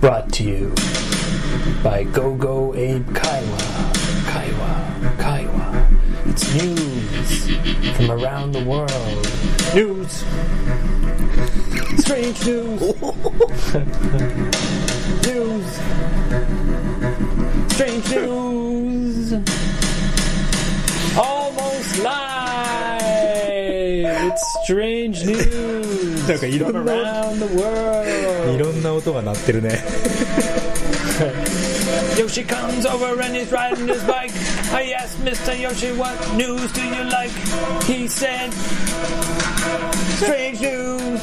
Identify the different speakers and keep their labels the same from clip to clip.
Speaker 1: Brought to you by Go-Go Abe Kaiwa. Kaiwa. It's news from around the world. News. Strange news. News. Strange news. Almost live. It's strange news
Speaker 2: なんかいろ
Speaker 1: from
Speaker 2: んな
Speaker 1: around the world.
Speaker 2: いろんな音が鳴ってるね。
Speaker 1: Yoshi comes over and he's riding his bike. I asked Mr. Yoshi, what news do you like? He said, strange news.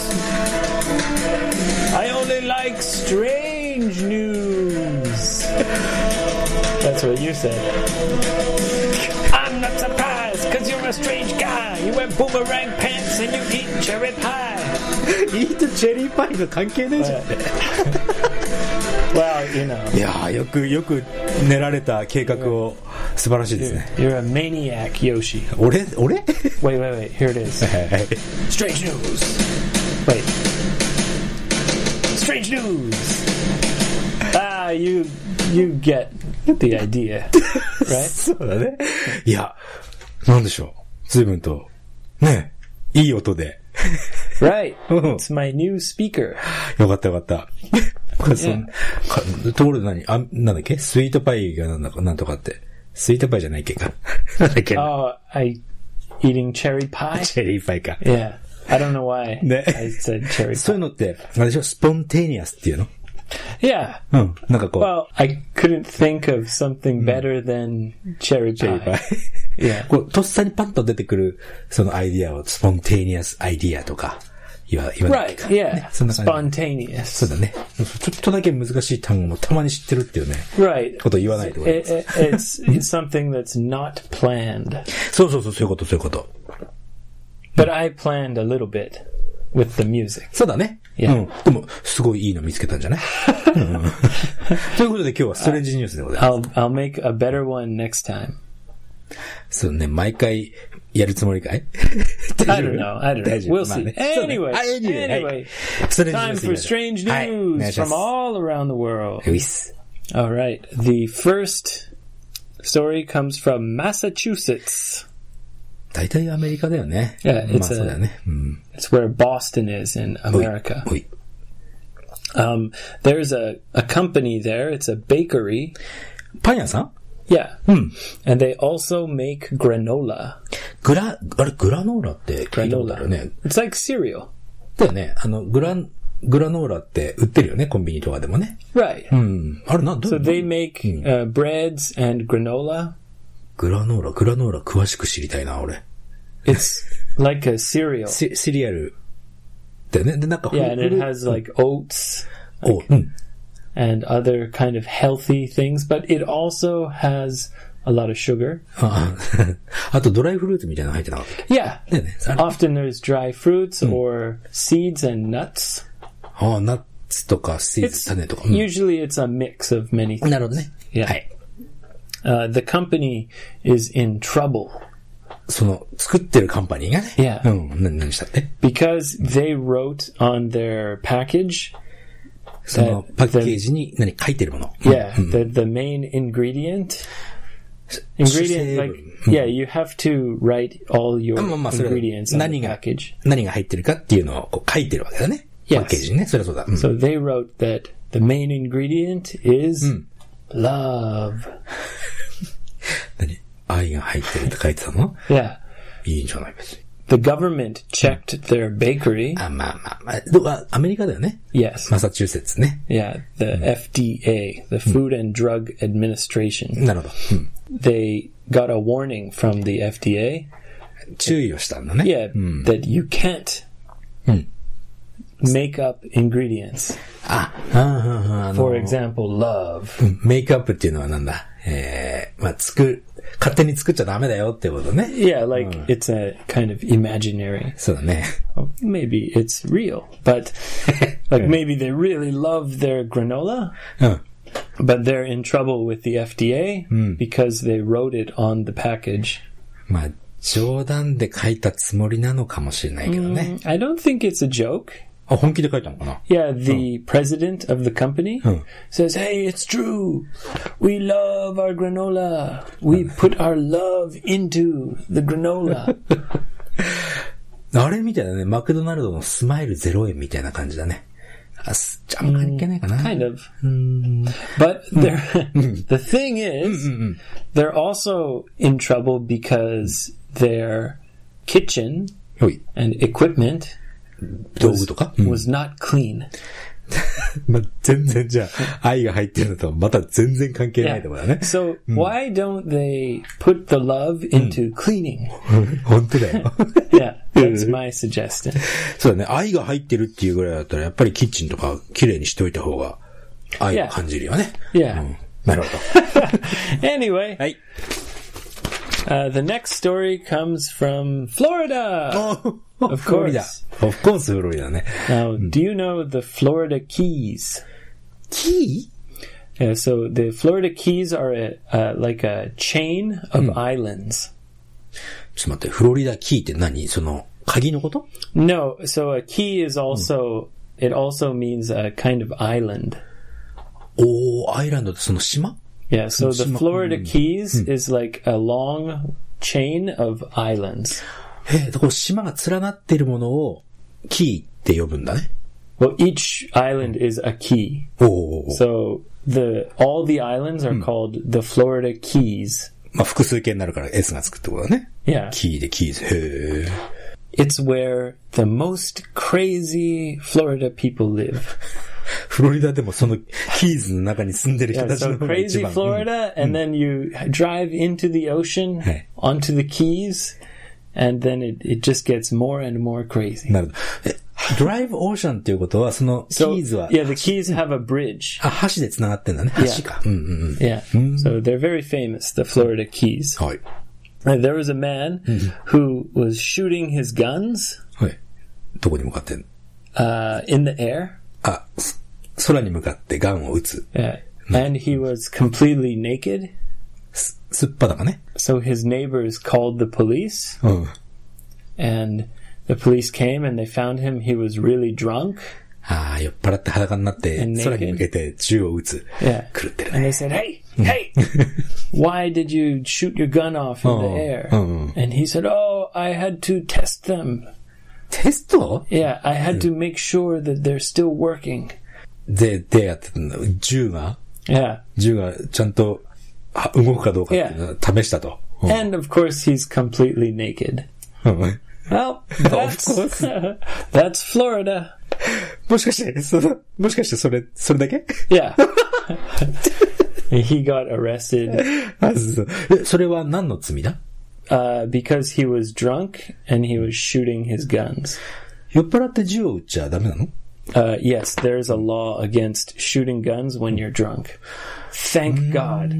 Speaker 1: I only like strange news. That's what you said. I'm not surprised, cause you're a strange guy. You wear boomerang pants and you eat cherry pie.
Speaker 2: いいとチェリーパイが関係ねえじゃん。
Speaker 1: Well, you know.
Speaker 2: いやー、よく練られた計画を素晴らしいですね。
Speaker 1: You're a maniac, Yoshi.
Speaker 2: 俺
Speaker 1: Wait. Here it is. Strange news. Wait. Strange news. You get the idea, right?
Speaker 2: そうだね。いや、なんでしょう。随分と、ね、いい音で。
Speaker 1: Right. It's my new speaker.
Speaker 2: よかった。これところでなんだっけスイートパイがなんとかって。スイートパイじゃないっけか。なんだっけ
Speaker 1: Oh, eating cherry pie?
Speaker 2: チェリーパイか。
Speaker 1: Yeah. I don't know why
Speaker 2: ね。
Speaker 1: I said cherry
Speaker 2: そういうのって、あれでしょスポンテニアスっていうの
Speaker 1: pie. Yeah.
Speaker 2: うん。なんかこう。
Speaker 1: Well, I couldn't think of something better than cherry
Speaker 2: チェリーパ
Speaker 1: pie.
Speaker 2: イ。
Speaker 1: Yeah.
Speaker 2: こう、とっさにパッと出てくる、そのアイディアをスポンテニアスアイディアとか言わない
Speaker 1: Right.
Speaker 2: か。
Speaker 1: Yeah.
Speaker 2: ね、そんな感じ。
Speaker 1: Spontaneous.
Speaker 2: そうだね。ちょっとだけ難しい単語もたまに知ってるっていうね。
Speaker 1: Right.
Speaker 2: こと言わないと。
Speaker 1: It's something that's not planned.
Speaker 2: そういうこと。
Speaker 1: But I planned a little bit with the music.
Speaker 2: そうだね。
Speaker 1: Yeah.
Speaker 2: うん。でも、すごいいいの見つけたんじゃないということで今日はストレンジニュースでございます。
Speaker 1: I'll make a better one next time.
Speaker 2: そうね、毎回やるつもりかい
Speaker 1: I don't know.
Speaker 2: 大丈夫
Speaker 1: We'll see.
Speaker 2: まあね
Speaker 1: Anyway,
Speaker 2: はい
Speaker 1: time for strange news from all around the world.
Speaker 2: ういっす。
Speaker 1: All right. The first story comes from Massachusetts.
Speaker 2: 大体アメリカだよね。
Speaker 1: Yeah,
Speaker 2: まあそうだよね。うん。
Speaker 1: It's where Boston is in America.
Speaker 2: おい。
Speaker 1: There's a company there. It's a bakery.
Speaker 2: パン屋さん
Speaker 1: Yeah.
Speaker 2: うん。
Speaker 1: And they also make granola.
Speaker 2: グラノーラって聞いたことあるね。
Speaker 1: It's like cereal.
Speaker 2: だよね。グラノーラって売ってるよね、コンビニとかでもね。
Speaker 1: Right.
Speaker 2: うん。あれど
Speaker 1: So they make breads and granola.
Speaker 2: グラノーラ詳しく知りたいな、俺。
Speaker 1: It's like a cereal.
Speaker 2: シリアルだよね。で、なんか
Speaker 1: Yeah, and it has like oats
Speaker 2: うん。
Speaker 1: and other kind of healthy things, but it also has a lot of sugar.
Speaker 2: あとドライフルーツみたいなの入ってなかったっけ
Speaker 1: Yeah.
Speaker 2: だよね。
Speaker 1: Often there's dry fruits or seeds and nuts.
Speaker 2: ナッツとかシーズ、
Speaker 1: It's
Speaker 2: 種とか。
Speaker 1: usually it's a mix of many things.
Speaker 2: なるほどね。
Speaker 1: Yeah.
Speaker 2: はい。
Speaker 1: The company is in trouble
Speaker 2: その、作ってるカンパニーがね。
Speaker 1: Yeah.
Speaker 2: うん。何したって
Speaker 1: because they wrote on their package
Speaker 2: その、パッケージに何書いてるもの。
Speaker 1: Yeah, the main ingredient, like, yeah, you have to write all your
Speaker 2: まあそれ
Speaker 1: ingredients on the
Speaker 2: 何が
Speaker 1: package.
Speaker 2: 入ってるかっていうのをこう書いてるわけだね。
Speaker 1: Yes.
Speaker 2: パッケージにね。そりゃそうだ。うん
Speaker 1: So they wrote that the main ingredient is love.
Speaker 2: 何愛が入ってるって書いてたの
Speaker 1: Yeah.
Speaker 2: いいんじゃない別に。
Speaker 1: The government checked their bakery.
Speaker 2: まあ、アメリカだよね。
Speaker 1: Yes.
Speaker 2: マサチューセッツね。
Speaker 1: Yeah, the FDA, the Food and Drug Administration.
Speaker 2: なるほど。うん。
Speaker 1: They got a warning from the FDA.
Speaker 2: 注意をしたんだね。
Speaker 1: Yeah, that you can't make up ingredients. For example, love.
Speaker 2: メイクアップっていうのはなんだまあ、勝手に作っちゃダメだよってことね。
Speaker 1: Yeah, like it's a kind of imaginary.
Speaker 2: そうだね。
Speaker 1: Maybe it's real, but like maybe they really love their granola,
Speaker 2: うん。
Speaker 1: but they're in trouble with the FDA because they wrote it on the package.
Speaker 2: まあ、冗談で書いたつもりなのかもしれないけどね。
Speaker 1: I don't think it's a joke.
Speaker 2: あ、本気で書いたのかな
Speaker 1: Yeah, the president of the company says, "Hey, it's true. We love our granola. We put our love into the granola."
Speaker 2: あれみたいだね。マクドナルドのスマイル0円みたいな感じだね。あんま関係ないかな。
Speaker 1: Kind of. But the thing is, they're also in trouble because their kitchen and equipment
Speaker 2: 道具とか
Speaker 1: was not clean.
Speaker 2: まあ、全然じゃあ、愛が入ってるのとまた全然関係ないところだね。
Speaker 1: So, why don't they put the love into cleaning?
Speaker 2: 本当だよ。
Speaker 1: Yeah, that's my suggestion.
Speaker 2: そうだね。愛が入ってるっていうぐらいだったら、やっぱりキッチンとか綺麗にしておいた方が愛を感じるよね。
Speaker 1: Yeah.
Speaker 2: なるほど。
Speaker 1: Anyway.
Speaker 2: はい。
Speaker 1: The next story comes from Florida. Of course.
Speaker 2: Of course, フロリダね。
Speaker 1: Now, do you know the Florida Keys?
Speaker 2: Key?
Speaker 1: Yeah, so the Florida Keys are like a chain of islands.
Speaker 2: ちょっと待って、フロリダキーって何？その、鍵のこと？
Speaker 1: No, so a key is also, it also means a kind of island.
Speaker 2: アイランドってその島？
Speaker 1: Yeah, so the Florida Keys is like a long chain of islands.
Speaker 2: こう島が連なっているものをキーって呼ぶんだね。
Speaker 1: Well, each island is a key. So all the islands are called the Florida Keys.
Speaker 2: まあ複数形になるから S がつくってことだね。
Speaker 1: Yeah.
Speaker 2: キーでキーズ。へー。
Speaker 1: It's where the most crazy Florida people live.
Speaker 2: フロリダでもそのキーズの中に住んでる人たちの方が一
Speaker 1: crazy
Speaker 2: 番。
Speaker 1: Florida, and then you drive into the ocean, onto the Keys, and then it just gets more and more crazy.
Speaker 2: なるほど。Drive Ocean っていうことは、そのキーズは。
Speaker 1: Yeah, the Keys have a bridge.
Speaker 2: 橋で繋がってんだね。橋か。
Speaker 1: Yeah. So they're very famous, the Florida Keys.
Speaker 2: はい。
Speaker 1: There was a man who was shooting his guns
Speaker 2: はい。どこに向かってんの
Speaker 1: in the air.
Speaker 2: 空に向かってガンを撃つ。
Speaker 1: Yeah. And he was completely naked.
Speaker 2: すっぱだかね。
Speaker 1: So his neighbors called the police. And the police came and they found him. He was really drunk.
Speaker 2: 酔っ払って裸になって、空に向けて銃を撃つ。
Speaker 1: Yeah.
Speaker 2: 狂ってるね。
Speaker 1: And they said, hey, why did you shoot your gun off in the air? And he said, I had to test them.
Speaker 2: テスト？
Speaker 1: Yeah, I had to make sure that they're still working.
Speaker 2: でやってたんだ。銃が
Speaker 1: Yeah.
Speaker 2: 銃がちゃんと動くかどうかっていうのを試したと。
Speaker 1: And of course he's completely naked. Well, that's Florida.
Speaker 2: もしかしてそれだけ
Speaker 1: Yeah. He got arrested.
Speaker 2: それは何の罪だ
Speaker 1: because he was drunk and he was shooting his guns.
Speaker 2: 酔っ払って銃を撃っちゃダメなの
Speaker 1: Yes, there's a law against shooting guns when you're drunk. Thank God.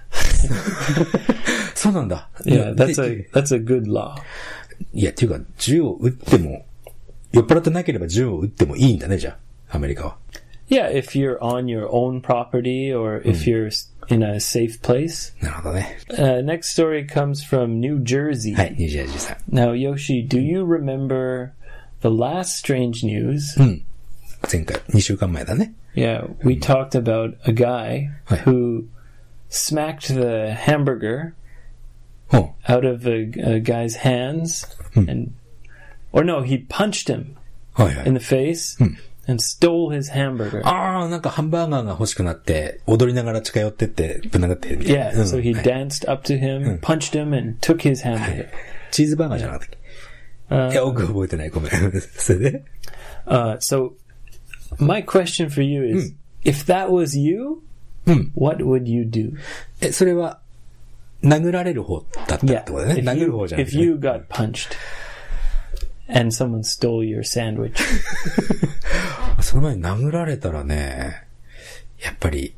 Speaker 2: そうなんだ。
Speaker 1: Yeah, that's a good law.
Speaker 2: いや、っていうか、銃を撃っても、酔っ払ってなければ銃を撃ってもいいんだね、じゃあ、アメリカは。
Speaker 1: Yeah, if you're on your own property or if you're in a safe place.
Speaker 2: なるほどね。
Speaker 1: Next story comes from New Jersey.
Speaker 2: はい、ニュージャージーさん。
Speaker 1: Now, Yoshi, do you remember the last strange news?
Speaker 2: 前回、2週間前だね。
Speaker 1: Yeah, we talked about a guy who smacked the hamburger out of a guy's hands or no, he punched him in the face and stole his hamburger.
Speaker 2: なんかハンバーガーが欲しくなって、踊りながら近寄ってって、ぶん殴ってみたいな。
Speaker 1: Yeah, so he danced up to him, punched him, and took his hamburger.
Speaker 2: チーズバーガーじゃなかったっけいや、僕覚えてない。ごめん。それで
Speaker 1: So, my question for you is, if that was you, what would you do?
Speaker 2: それは、殴られる方だったってことだね。殴る方じゃなくて。
Speaker 1: If you got punched and someone stole your sandwich.
Speaker 2: その前に殴られたらね、やっぱり、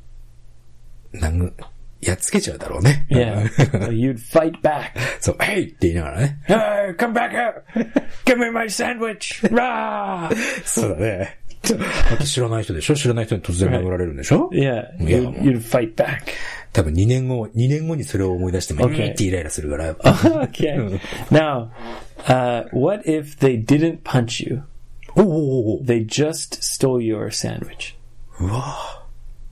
Speaker 2: やっつけちゃうだろうね。
Speaker 1: Yeah. You'd fight back.
Speaker 2: そう、Hey! って言いながらね。
Speaker 1: Hey, come back here! Give me my sandwich! Rah!
Speaker 2: そうだね。だって知らない人でしょ？知らない人に突然殴られるんでしょ？
Speaker 1: Yeah, you'd fight back.
Speaker 2: 多分2年後にそれを思い出しても、ってイライラするから。
Speaker 1: Okay. Now, what if they didn't punch you?
Speaker 2: おおお
Speaker 1: They just stole your sandwich.
Speaker 2: うわ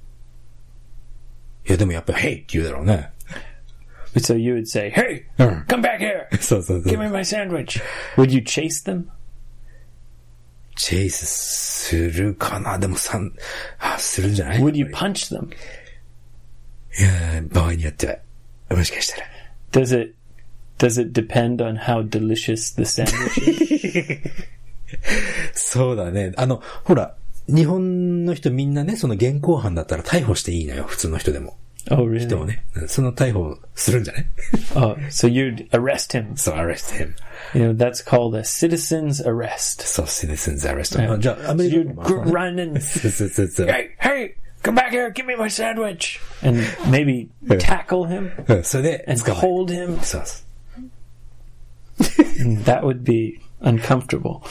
Speaker 2: いや、でもやっぱり、Hey! って言うだろうね。
Speaker 1: So you would say, Hey! Come back here!
Speaker 2: そうそうそう。
Speaker 1: Give me my sandwich. Would you chase them?
Speaker 2: チェイスするかなでもするんじゃない
Speaker 1: Would you punch them?
Speaker 2: いや、場合によっては、もしかしたら。
Speaker 1: Does it depend on how delicious the sandwich is?
Speaker 2: そうだね。ほら、日本の人みんなね、その現行犯だったら逮捕していいのよ、普通の人でも。
Speaker 1: Oh, really?
Speaker 2: 人をね。その逮捕するんじゃない
Speaker 1: Oh, so you'd arrest him.
Speaker 2: So arrest him.
Speaker 1: You know, that's called a citizen's arrest.
Speaker 2: そう、citizens arrest. じゃあ、アメリ
Speaker 1: You'd
Speaker 2: カも
Speaker 1: run and
Speaker 2: そう。
Speaker 1: hey, come back here, give me my sandwich. And maybe tackle him
Speaker 2: それで、
Speaker 1: and
Speaker 2: 捕まえ
Speaker 1: hold him.
Speaker 2: そうそう。
Speaker 1: That would be uncomfortable.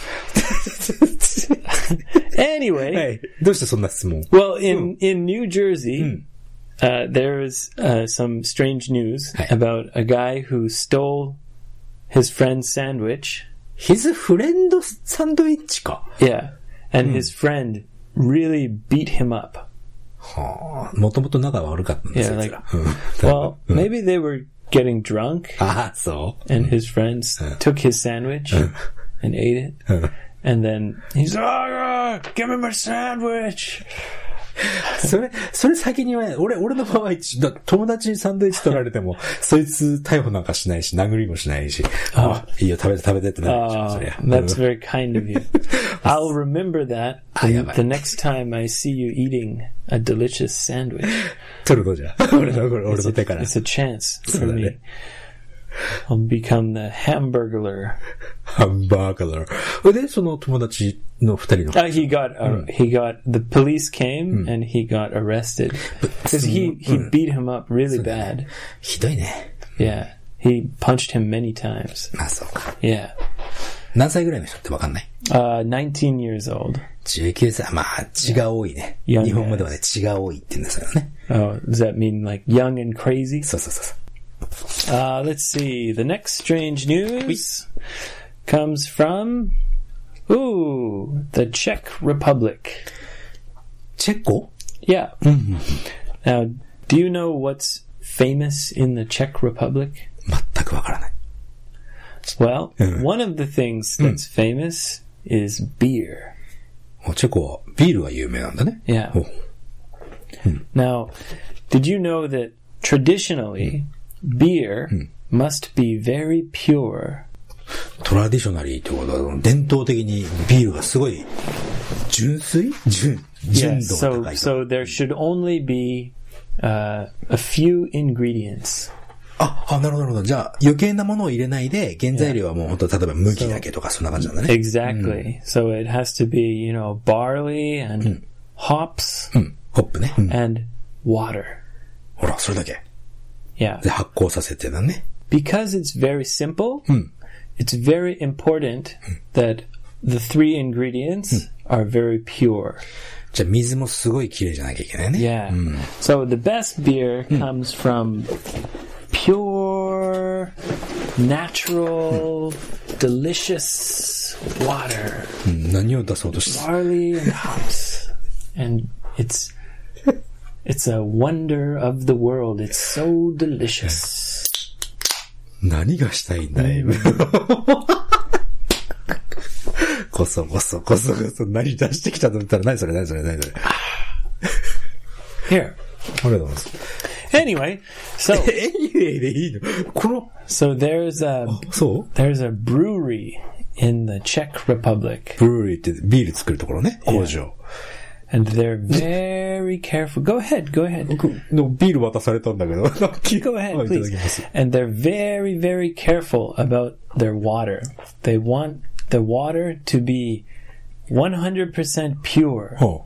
Speaker 1: Anyway,
Speaker 2: はい。どうしてそんな質問
Speaker 1: well, in New Jersey, there's some strange news about a guy who stole his friend's sandwich.
Speaker 2: His friend サンドイッチか。
Speaker 1: Yeah. And his friend really beat him up.
Speaker 2: はあ、もともと仲悪かったんです
Speaker 1: Yeah,
Speaker 2: よ。
Speaker 1: like,
Speaker 2: うん
Speaker 1: well, maybe they were getting drunk
Speaker 2: ああ、そう。
Speaker 1: and his friends took his sandwich and ate it. And then he's like, oh, give me my sandwich.
Speaker 2: それ先には、俺の場合、友達にサンドイッチ取られても、そいつ逮捕なんかしないし、殴りもしないし、いいよ、食べてってなるでしょ、そりゃ。
Speaker 1: That's very kind of you. I'll remember that the next time I see you eating a delicious sandwich.
Speaker 2: 取るのじゃ。俺の手から。
Speaker 1: It's a chance for me. I'll become the hamburglar.
Speaker 2: ハンバーガー。で、その友達の二人の。
Speaker 1: He got, the police came and he got arrested. Because he beat him up really bad.
Speaker 2: ひどいね。
Speaker 1: Yeah. He punched him many times.
Speaker 2: まあ、そうか。
Speaker 1: Yeah.
Speaker 2: 何歳ぐらいの人ってわかんない
Speaker 1: 19 years old.
Speaker 2: 19歳。まあ、血が多いね。
Speaker 1: Young
Speaker 2: 日本語ではね、血が多いって言うんですよね。
Speaker 1: Oh, does that mean like young and crazy?
Speaker 2: そうそうそうそう。
Speaker 1: Let's see. The next strange news comes from, the Czech Republic.
Speaker 2: チェコ
Speaker 1: Yeah. Now, do you know what's famous in the Czech Republic?
Speaker 2: 全くわからない。
Speaker 1: Well, one of the things that's famous is beer.
Speaker 2: チェコはビールが有名なんだね。
Speaker 1: Yeah. Now, did you know that traditionally beer must be very pure?
Speaker 2: トラディショナリーってことは、伝統的にビールがすごい純粋純度が高い。
Speaker 1: So there should only be a few ingredients.
Speaker 2: なるほど。じゃあ、余計なものを入れないで、原材料はもう本当例えば麦だけとかそんな感じなんだね。
Speaker 1: Exactly. So it has to be, barley and hops
Speaker 2: ホップね。
Speaker 1: and water.
Speaker 2: ほら、それだけ。
Speaker 1: Yeah.
Speaker 2: で、発酵させてだね。
Speaker 1: Because it's very simple, it's very important that the three ingredients are very pure.
Speaker 2: じゃあ、水もすごい綺麗じゃなきゃいけないね。
Speaker 1: Yeah. So the best beer comes from pure, natural, delicious water.
Speaker 2: 何を出そうとして
Speaker 1: Barley and hops. And it's a wonder of the world. It's so delicious.
Speaker 2: 何がしたいんだいこそ何出してきたと思ったら何それ
Speaker 1: Here.
Speaker 2: ありがとうございます。
Speaker 1: Anyway, so
Speaker 2: Anyway でいいの
Speaker 1: so there's a
Speaker 2: そう
Speaker 1: there's a brewery in the Czech Republic.
Speaker 2: ブルーリーってビール作るところね。工場。
Speaker 1: And they're very careful. Go ahead.
Speaker 2: ビール渡されたんだけど。
Speaker 1: Go ahead,
Speaker 2: いただき
Speaker 1: please.
Speaker 2: ます。
Speaker 1: And they're very, very careful about their water. They want the water to be 100% pure.
Speaker 2: ほ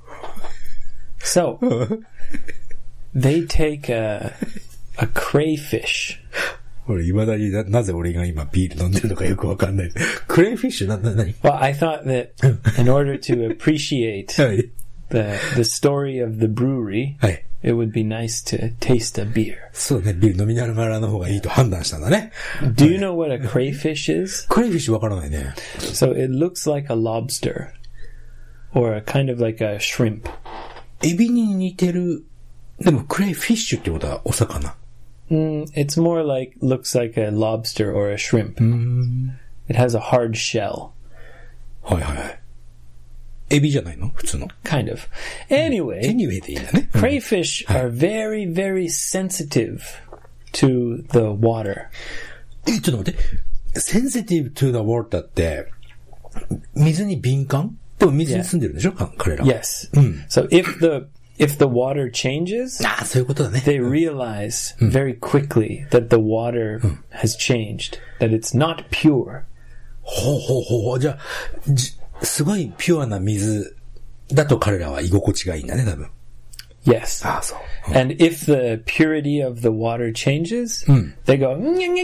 Speaker 1: So they take a crayfish.
Speaker 2: 俺、未だになぜ俺が今ビール飲んでるのかよくわかんない。クレイフィッシュ何
Speaker 1: Well, I thought that in order to appreciate
Speaker 2: はい。
Speaker 1: the story of the brewery,
Speaker 2: はい。
Speaker 1: it would be nice to taste a beer.
Speaker 2: そうね、ビール飲みながらの方がいいと判断したんだね。
Speaker 1: Do you know what a crayfish is?
Speaker 2: クレイフィッシュわからないね。
Speaker 1: So it looks like a lobster. Or a kind of like a shrimp.
Speaker 2: エビに似てる。でもクレイフィッシュってことはお魚。
Speaker 1: It's more like, looks like a lobster or a shrimp. It has a hard shell.
Speaker 2: はいはいはい。エビじゃないの普通の。
Speaker 1: Kind of. Anyway,
Speaker 2: でいいんだね。
Speaker 1: crayfish are very, very sensitive to the water.
Speaker 2: ちょっと待って。sensitive to the water って、水に敏感？でも水に住んでるんでしょ彼らは。
Speaker 1: Yes. So if the water changes,
Speaker 2: そういうことだね。
Speaker 1: they realize very quickly that the water has changed, that it's not pure.
Speaker 2: ほう。じゃあ、すごいピュアな水だと彼らは居心地がいいんだね、多分。
Speaker 1: Yes.
Speaker 2: そう。
Speaker 1: And if the purity of the water changes, they go,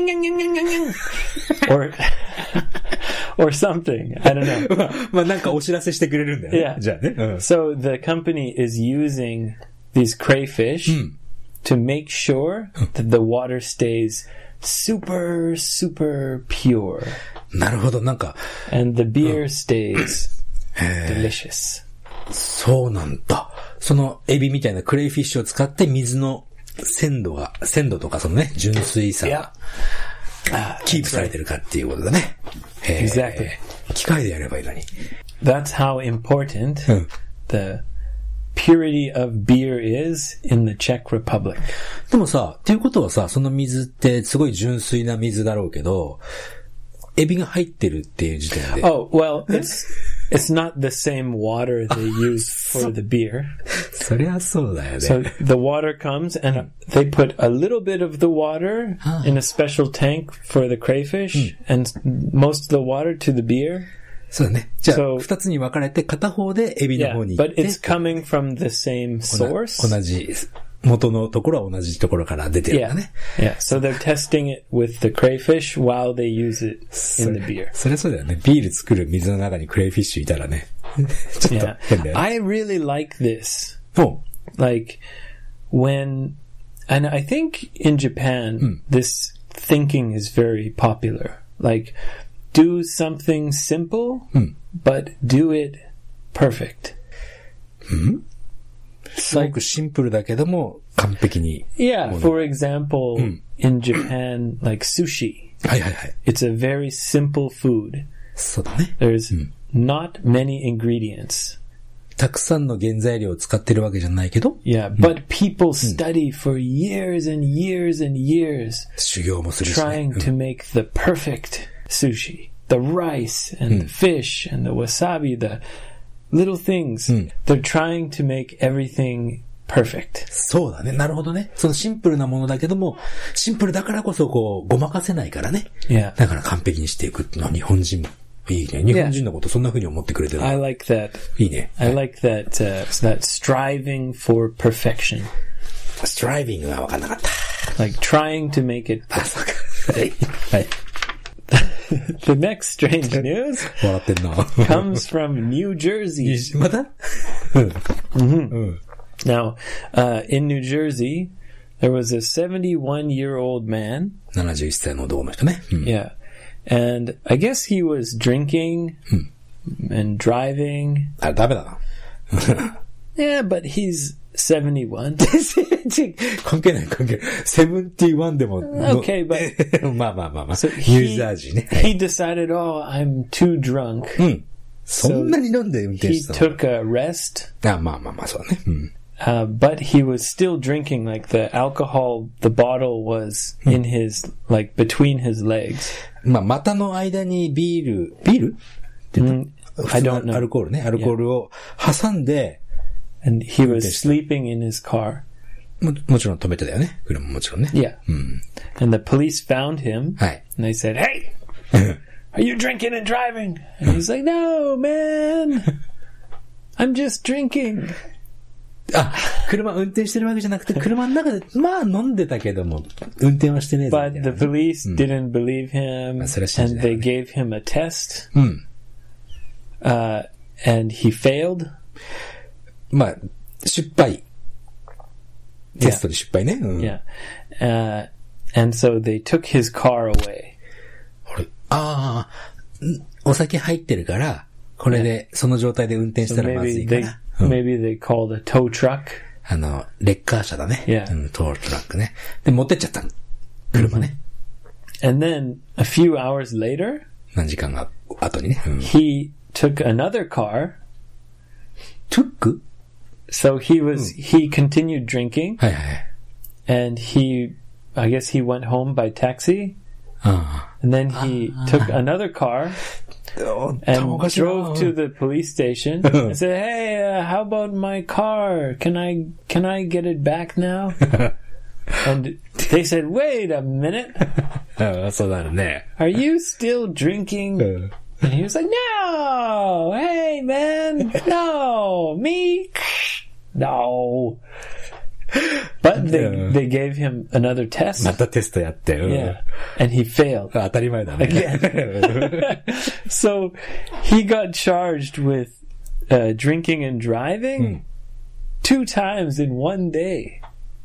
Speaker 1: or something. I don't know.
Speaker 2: まあなんかお知らせしてくれるんだよね。
Speaker 1: Yeah.
Speaker 2: じゃあね。
Speaker 1: So the company is using these crayfish to make sure that the water stays super, super pure.
Speaker 2: なるほど、なんか。
Speaker 1: And the beer stays delicious.
Speaker 2: そうなんだ。そのエビみたいなクレイフィッシュを使って水の鮮度とかそのね、純粋さがキープされてるかっていうことだね。
Speaker 1: Exactly.
Speaker 2: 機械でやればいいのに。
Speaker 1: That's how important the purity of beer is in the Czech Republic.
Speaker 2: でもさ、っていうことはさ、その水ってすごい純粋な水だろうけど、エビが入ってるっていう時点で。
Speaker 1: Oh, well, it's not the same water they use for the beer.
Speaker 2: そりゃそうだよね。
Speaker 1: So the water comes and they put a little bit of the water in a special tank for the crayfish and most of the water to the beer.
Speaker 2: そうだね。じゃあ、二つに分かれて片方でエビの方に行って。
Speaker 1: But it's coming from the same source.
Speaker 2: 同じ、元のところは同じところから出てるんだね。
Speaker 1: Yeah. So they're testing it with the crayfish while they use it in the beer.
Speaker 2: そりゃそうだよね。ビール作る水の中にクレイフィッシュいたらね。ちょっと変だよね。
Speaker 1: I really like this. Like, and I think in Japan, this thinking is very popular. Like, do something simple, but do it perfect.
Speaker 2: すごくシンプルだけども完璧に。
Speaker 1: Yeah, for example, in Japan, like sushi.
Speaker 2: はいはいはい。
Speaker 1: It's a very simple food.
Speaker 2: そうだね。
Speaker 1: There's not many ingredients.
Speaker 2: たくさんの原材料を使ってるわけじゃないけど。
Speaker 1: Yeah, but people study for years and years and years.
Speaker 2: 修行もするしね。
Speaker 1: Trying to make the perfect sushi. The rice and the fish and the wasabi, the little things. They're trying to make everything perfect.
Speaker 2: そうだね。なるほどね。そのシンプルなものだけども、シンプルだからこそこう、ごまかせないからね。
Speaker 1: Yeah.
Speaker 2: だから完璧にしていくっていうのは日本人もいいね。日本人のことそんな風に思ってくれてる。
Speaker 1: I like that.
Speaker 2: いいね。
Speaker 1: I like that, that striving for perfection.
Speaker 2: striving は分かんなかった。
Speaker 1: Like trying to make it perfect.
Speaker 2: あ、そうか。はい。はい。
Speaker 1: The next strange news
Speaker 2: 笑ってんな
Speaker 1: comes from New Jersey.
Speaker 2: また
Speaker 1: Now, in New Jersey, there was a 71-year-old man.
Speaker 2: 71歳の男の人ね。
Speaker 1: Yeah. And I guess he was drinking and driving.
Speaker 2: あ、ダメだな。
Speaker 1: Yeah, but he's 71.
Speaker 2: 関係ない関係ない。71でも。
Speaker 1: Okay, but
Speaker 2: まあまあまあまあ。
Speaker 1: So
Speaker 2: ニュージャージーね。
Speaker 1: He decided, oh, I'm too drunk.
Speaker 2: そんなに飲んで運転したの？
Speaker 1: He took a rest.
Speaker 2: あ、まあまあまあ、そうね。
Speaker 1: But he was still drinking, like the alcohol, the bottle was in his, like between his legs.
Speaker 2: まあ、股の間にビールって言った？
Speaker 1: I don't know.
Speaker 2: アルコールね。アルコールを挟んで、
Speaker 1: And he was sleeping in his car.
Speaker 2: もちろん止めてたよね。車ももちろんね。
Speaker 1: Yeah. And the police found him.
Speaker 2: はい。
Speaker 1: And they said, hey, are you drinking and driving? And he's like, no, man. I'm just drinking.
Speaker 2: あ、車運転してるわけじゃなくて、車の中で、まあ飲んでたけども、運転はしてねえぞ。
Speaker 1: But the police didn't believe him. And they gave him a test. And he failed.
Speaker 2: まあ、失敗。 テストで失敗ね。うん、
Speaker 1: Yeah. And so they took his car away.
Speaker 2: お酒入ってるから、これで、その状態で運転したらまずいから。
Speaker 1: Maybe they called a tow truck.
Speaker 2: レッカー車だね。
Speaker 1: Yeah.
Speaker 2: トートラックね。で、持ってっちゃった。車ね。
Speaker 1: And then, a few hours later,
Speaker 2: 何時間が後にね。
Speaker 1: he took another car.
Speaker 2: took?
Speaker 1: So he continued drinking.
Speaker 2: はいはい。
Speaker 1: And I guess he went home by taxi. And then he took another car and drove to the police station and said, "Hey, how about my car? Can I get it back now?" And they said, "Wait a minute.
Speaker 2: そうなるね。
Speaker 1: Are you still drinking?" And he was like, "No, hey man, no, me, no." But they gave him another test.
Speaker 2: またテストやって。
Speaker 1: Yeah. And he failed.
Speaker 2: 当たり前だね。
Speaker 1: Again. So he got charged with drinking and driving 2 times in 1 day.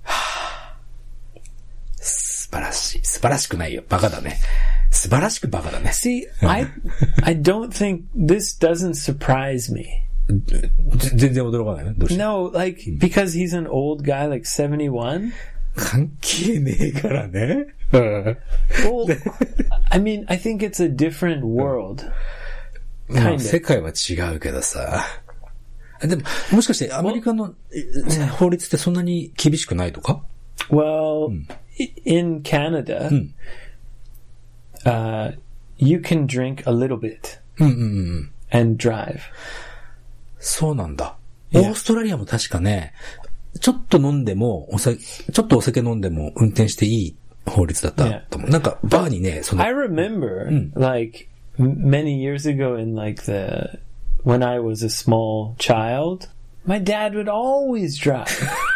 Speaker 2: 素晴らしい。素晴らしくないよ。バカだね。素晴らしくバカだね。
Speaker 1: See, I don't think this doesn't surprise me.
Speaker 2: 全然驚かないね。どうして
Speaker 1: No, like, because he's an old guy, like 71.
Speaker 2: 関係ねえからね。
Speaker 1: Well, I mean, I think it's a different world.
Speaker 2: まあ、世界は違うけどさ。でも、もしかしてアメリカの法律ってそんなに厳しくないとか？
Speaker 1: Well, in Canada, you can drink a little bit and drive.
Speaker 2: そうなんだ。オーストラリアも確かね、ちょっと飲んでも、ちょっとお酒飲んでも運転していい法律だったと思う。なんか、バーにね、
Speaker 1: I remember, like, many years ago when I was a small child, my dad would always drive.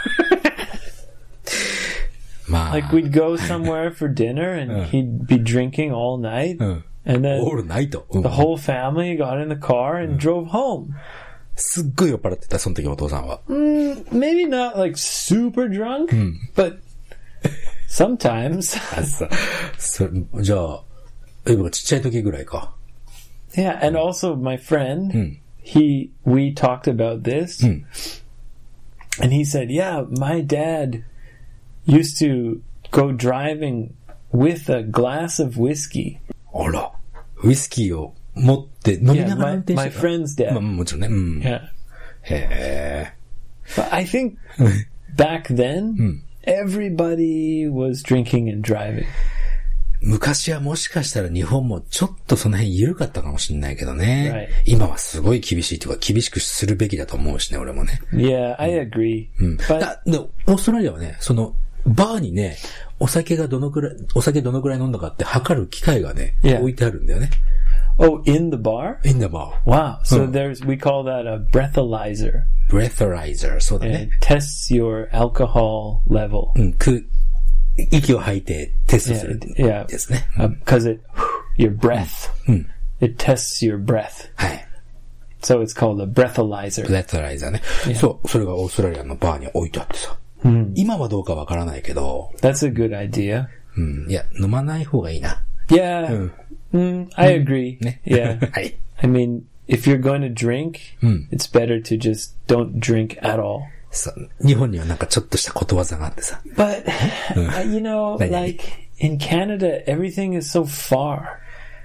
Speaker 2: まあ。
Speaker 1: Like, we'd go somewhere for dinner and he'd be drinking all night. And then
Speaker 2: all night.
Speaker 1: The whole family got in the car and drove home.
Speaker 2: すっごい酔っ払ってた、その時お父さんは。
Speaker 1: Maybe not like super drunk, but sometimes.
Speaker 2: じゃあ、ちっちゃい時ぐらいか。
Speaker 1: Yeah, and also my friend, we talked about this, and he said, yeah, my dad used to go driving with a glass of whiskey.
Speaker 2: あら、ウイスキーを持って飲みながら運転してた。
Speaker 1: My friend's dad.
Speaker 2: まあ、もちろんね。
Speaker 1: Yeah.
Speaker 2: へ
Speaker 1: ー。But I think back then, everybody was drinking and driving.
Speaker 2: 昔はもしかしたら日本もちょっとその辺緩かったかもしれないけどね。Right. 今はすごい厳しいというか厳しくするべきだと思うしね、俺もね。
Speaker 1: Yeah, I agree.
Speaker 2: But オーストラリアはね、バーにね、お酒どのくらい飲んだかって測る機械がね、置いてあるんだよね。
Speaker 1: Oh, in the bar?
Speaker 2: In the bar.
Speaker 1: Wow. So we call that a breathalyzer.
Speaker 2: Breathalyzer. そうだね。
Speaker 1: It tests your alcohol level.
Speaker 2: 息を吐いてテストするですね。
Speaker 1: Because your breath. It tests your breath.
Speaker 2: はい。
Speaker 1: So it's called a breathalyzer.
Speaker 2: Breathalyzer ね。そう、それがオーストラリアのバーに置いてあってさ。今はどうかわからないけど。
Speaker 1: That's a good idea.
Speaker 2: いや、飲まない方がいいな。
Speaker 1: Yeah. I agree.
Speaker 2: ね。
Speaker 1: Yeah.
Speaker 2: はい。
Speaker 1: I mean, if you're going to drink, it's better to just don't drink at all.
Speaker 2: 日本にはなんかちょっとしたことわざがあってさ。
Speaker 1: But, you know, like, in Canada, everything is so far.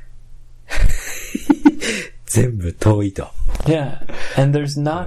Speaker 2: 全部遠いと。
Speaker 1: Yeah. And there's not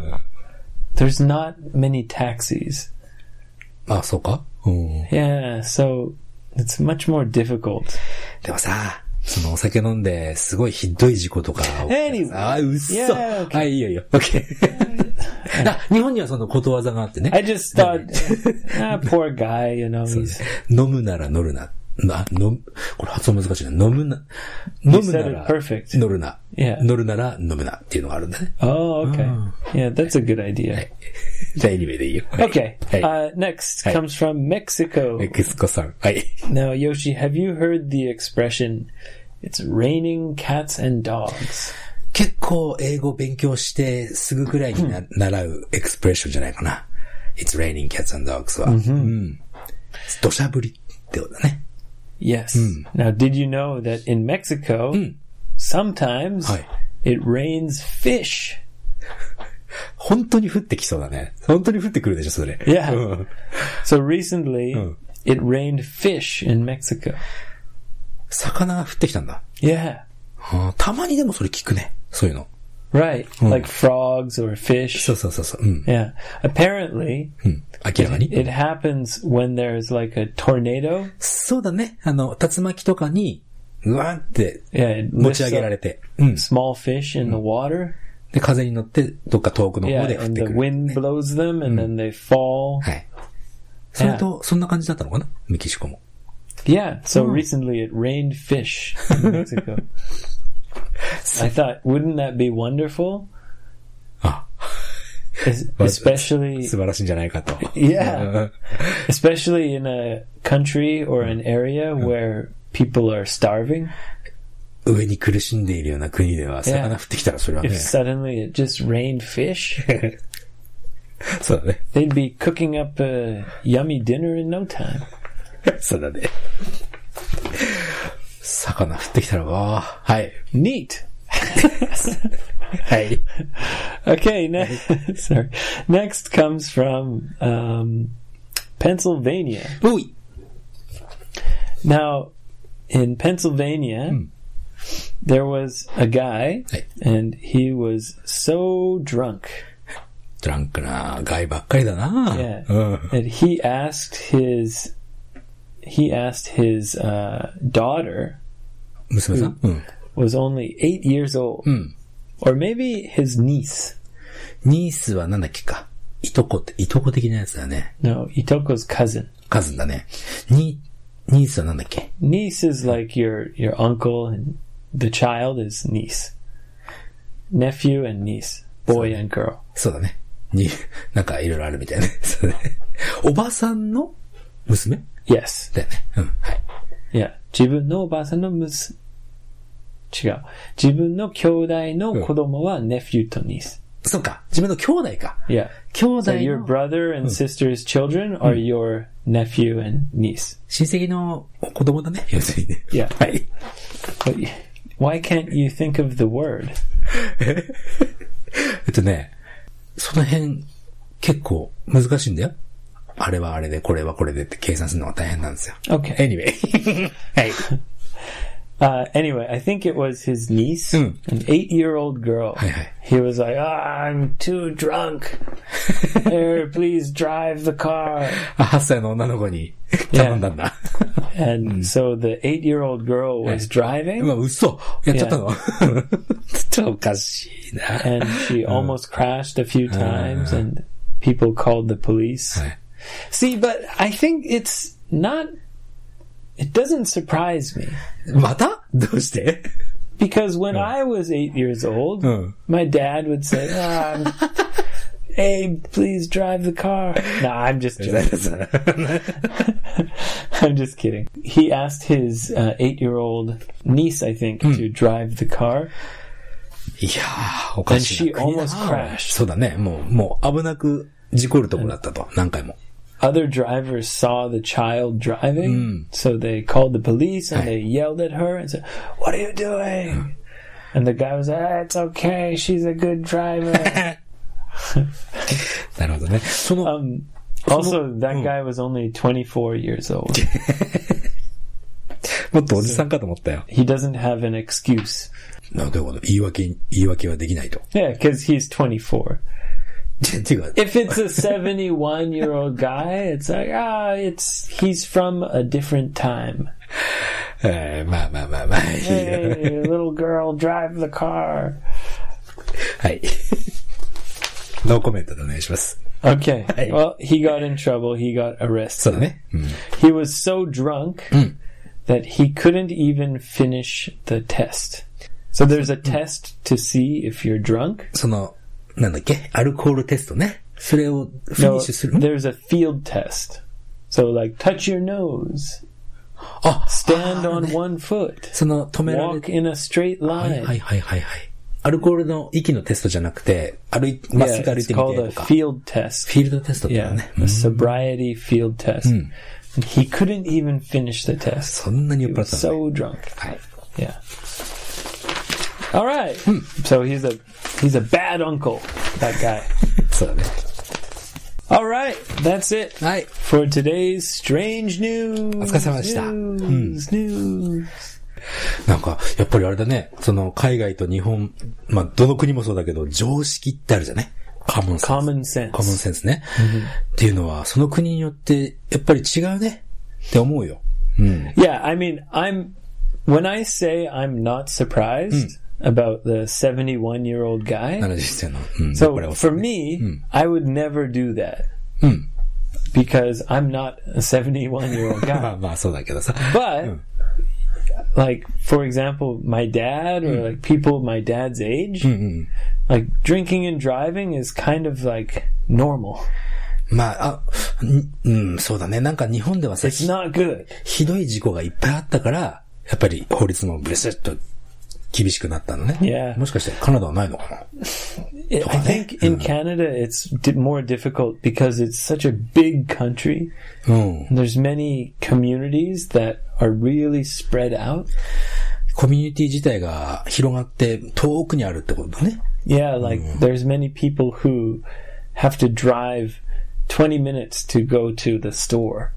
Speaker 1: many taxis.
Speaker 2: あ、そうか
Speaker 1: ？Yeah, so it's much more difficult.
Speaker 2: でもさ、お酒飲んで、すごいひどい事故とか。
Speaker 1: Anyway.
Speaker 2: あ、うっそ。はい、いいよいいよ。OK 。日本にはそのことわざがあってね。
Speaker 1: I just thought, poor guy, you know.
Speaker 2: 飲むなら乗るな。これ発音難しいな。飲むなら乗るな。乗るなら飲むなっていうのがあるんだね。
Speaker 1: Oh, okay. Yeah, that's a good idea.
Speaker 2: じゃあ anyway でいいよ。
Speaker 1: Okay. Next comes from Mexico.
Speaker 2: メキシコさん。はい。
Speaker 1: Now, Yoshi, have you heard the expression, it's raining cats and dogs?
Speaker 2: 結構英語勉強してすぐくらいに習うエクスプレッションじゃないかな。 It's raining cats and dogs は。うん。土砂降りってことだね。
Speaker 1: Yes. Now, did you know that in Mexico, sometimes it rains fish?
Speaker 2: 本当に降ってきそうだね。本当に降ってくるでしょ、それ。
Speaker 1: Yeah. So recently, it rained fish in Mexico.
Speaker 2: 魚が降ってきたんだ。
Speaker 1: Yeah.
Speaker 2: たまにでもそれ聞くね。そういうの。
Speaker 1: Right. Like frogs or fish.
Speaker 2: そうそうそうそう。
Speaker 1: Yeah. Apparently,
Speaker 2: 明らかに。
Speaker 1: It happens when there's like a tornado.
Speaker 2: そうだね。竜巻とかに、うわーって、持ち上げられて。
Speaker 1: small fish in the water.
Speaker 2: で、風に乗って、どっか遠くの方で降ってくる、ね。
Speaker 1: and the wind blows them and then they fall.
Speaker 2: はい。それと、そんな感じだったのかなメキシコも。
Speaker 1: Yeah, so recently it rained fish in Mexico. I thought, wouldn't that be wonderful? Especially...
Speaker 2: 素晴らしいんじゃないかと。
Speaker 1: Yeah. Especially in a country or an area where people are starving.
Speaker 2: 上に苦しんでいるような国では、魚降ってきたらそれはね。
Speaker 1: If suddenly it just rained fish,
Speaker 2: そうだね。
Speaker 1: they'd be cooking up a yummy dinner in no time.
Speaker 2: そうだね。魚降ってきたら、わー。はい。
Speaker 1: Neat.
Speaker 2: はい。
Speaker 1: Okay, sorry. Next comes from Pennsylvania.
Speaker 2: Ooh.
Speaker 1: Now, in Pennsylvania, there was a guy, and he was so drunk.
Speaker 2: ドランクなガイばっかりだな。
Speaker 1: Yeah. And he asked his daughter,
Speaker 2: 娘さん
Speaker 1: was only 8 years old. Or maybe his niece.
Speaker 2: ニースはなんだっけか。いとこ的なやつだね。
Speaker 1: No, Itoko's cousin.
Speaker 2: カズンだね。ニースはなんだっけ
Speaker 1: Niece is like your uncle, and the child is niece. Nephew and niece. Boy and girl.
Speaker 2: そうだね。なんかいろいろあるみたいね。そうだね。おばさんの娘
Speaker 1: Yes.
Speaker 2: だよね。はい。
Speaker 1: Yeah. 自分のおばさんの娘。違う。自分の兄弟の子供は nephew と niece.
Speaker 2: そうか。自分の兄弟か。
Speaker 1: Yeah.
Speaker 2: 兄弟
Speaker 1: So
Speaker 2: の
Speaker 1: your brother and sister's children are your nephew and niece.
Speaker 2: 親戚の子供だね。要するにね。
Speaker 1: Yeah.
Speaker 2: はい。
Speaker 1: But why can't you think of the word?
Speaker 2: その辺結構難しいんだよ。あれはあれで、これはこれでって計算するのが大変なんですよ。
Speaker 1: Okay.
Speaker 2: Anyway. はい。
Speaker 1: Anyway, I think it was his niece, an 8-year-old girl. He was like, I'm too drunk. Here, please drive the car.
Speaker 2: 8歳の女の子に頼んだんだ。
Speaker 1: And so the 8-year-old girl was driving.
Speaker 2: うわ、嘘。やっちゃったのちょっとおかしいな。
Speaker 1: And she almost crashed a few times and people called the police. See, but I think it's not... It doesn't surprise me.
Speaker 2: またどうして
Speaker 1: Because when I was 8 years old, my dad would say, Abe, please drive the car. No, I'm just joking. I'm just kidding. He asked his 8-year-old niece, I think, to drive the car.
Speaker 2: いやー、おかしいな。
Speaker 1: And she almost crashed.
Speaker 2: そうだね。もう危なく事故るとこだったと。何回も。
Speaker 1: Other drivers saw the child driving, so they called the police and they yelled at her and said, "What are you doing?" And the guy was like, "It's okay, she's a good driver."
Speaker 2: なるほどね。
Speaker 1: Also, that guy was only 24 years old.
Speaker 2: もっとおじさんかと思ったよ。
Speaker 1: He doesn't have an excuse.
Speaker 2: どういうこと？言い訳はできないと。
Speaker 1: Yeah, because he's 24. If it's a 71-year-old guy, it's like, he's from a different time.
Speaker 2: まあ。
Speaker 1: Hey, little girl, drive the car.
Speaker 2: はい。ノーコメントでお願いします。
Speaker 1: Okay. Well, he got in trouble. He got arrested.
Speaker 2: そうだね。
Speaker 1: He was so drunk that he couldn't even finish the test. So there's a test to see if you're drunk.
Speaker 2: なんだっけアルコールテストね。それをフィニッシュする。
Speaker 1: No, there's a field test. So like touch your nose. Stand on one foot.
Speaker 2: 止められ
Speaker 1: Walk in a straight line.
Speaker 2: はい。 アルコールの息のテストじゃなくて、まっすぐ歩いてみてとか。
Speaker 1: Yeah, it's called a field test.
Speaker 2: フィールドテストだよね。
Speaker 1: Yeah, a sobriety field test. He couldn't even finish the test.
Speaker 2: そんなに酔っ払った
Speaker 1: のね。So drunk.
Speaker 2: はい。
Speaker 1: Yeah. All right. So he's a bad uncle, that guy.
Speaker 2: そうだね。
Speaker 1: All right, that's it.
Speaker 2: はい。
Speaker 1: For today's strange news.
Speaker 2: お疲れ様でした。
Speaker 1: News.
Speaker 2: なんか、やっぱりあれだね。その、海外と日本、まあ、どの国もそうだけど、常識ってあるじゃね。common sense ね。っていうのは、その国によって、やっぱり違うね。って思うよ。
Speaker 1: Yeah, I mean, when I say I'm not surprised about the 71-year-old guy.
Speaker 2: 70歳の。
Speaker 1: So for me, I would never do that. Because I'm not a 71-year-old guy.
Speaker 2: まあそうだけどさ。
Speaker 1: But, like, for example, my dad or like people my dad's age, like drinking and driving is kind of like normal.
Speaker 2: まあ、そうだね。なんか日本ではさ、
Speaker 1: It's not good.
Speaker 2: ひどい事故がいっぱいあったから、やっぱり法律もブレスッと厳しくなったのね。
Speaker 1: Yeah.
Speaker 2: もしかしてカナダはないのかな
Speaker 1: I think in Canada it's more difficult because it's such a big country. There's many communities that are really spread out.
Speaker 2: コミュニティ自体が広がって遠くにあるってことだね。
Speaker 1: Yeah, like there's many people who have to drive 20 minutes to go to the store.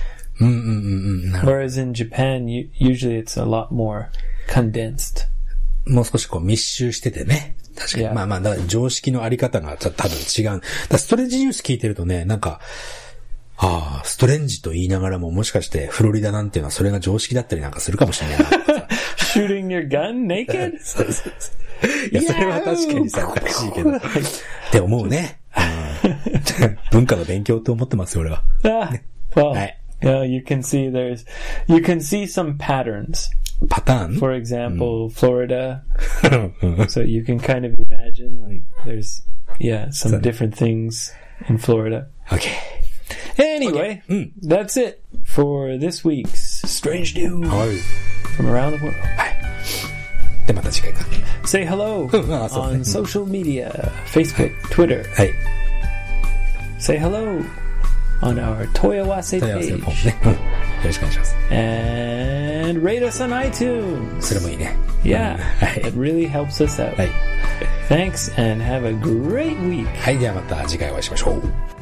Speaker 1: Whereas in Japan, usually it's a lot more condensed.
Speaker 2: もう少しこう密集しててね。確かに。まあまあ、だから常識のあり方が多分違う。だストレンジニュース聞いてるとね、なんか、ストレンジと言いながらももしかしてフロリダなんていうのはそれが常識だったりなんかするかもしれないな。
Speaker 1: Shooting your gun naked?
Speaker 2: そうそうそう。いや、それは確かにさ、おかしいけど。って思うね。文化の勉強と思ってますよ、俺は。
Speaker 1: Well, you can see some patterns.
Speaker 2: パターン
Speaker 1: For example, Florida. So you can kind of imagine like there's some different things in Florida.
Speaker 2: Okay.
Speaker 1: Anyway, that's it for this week's Strange News from around the world.
Speaker 2: はい。で、また次回か。
Speaker 1: Say hello on social media, Facebook, Twitter.
Speaker 2: はい。
Speaker 1: Say hello on our Toyawase page.
Speaker 2: よろしくお願いします。
Speaker 1: And rate us on iTunes.
Speaker 2: それもいいね。
Speaker 1: Yeah, it really helps us out.
Speaker 2: はい。
Speaker 1: Thanks and have a great week.
Speaker 2: はい、ではまた次回お会いしましょう。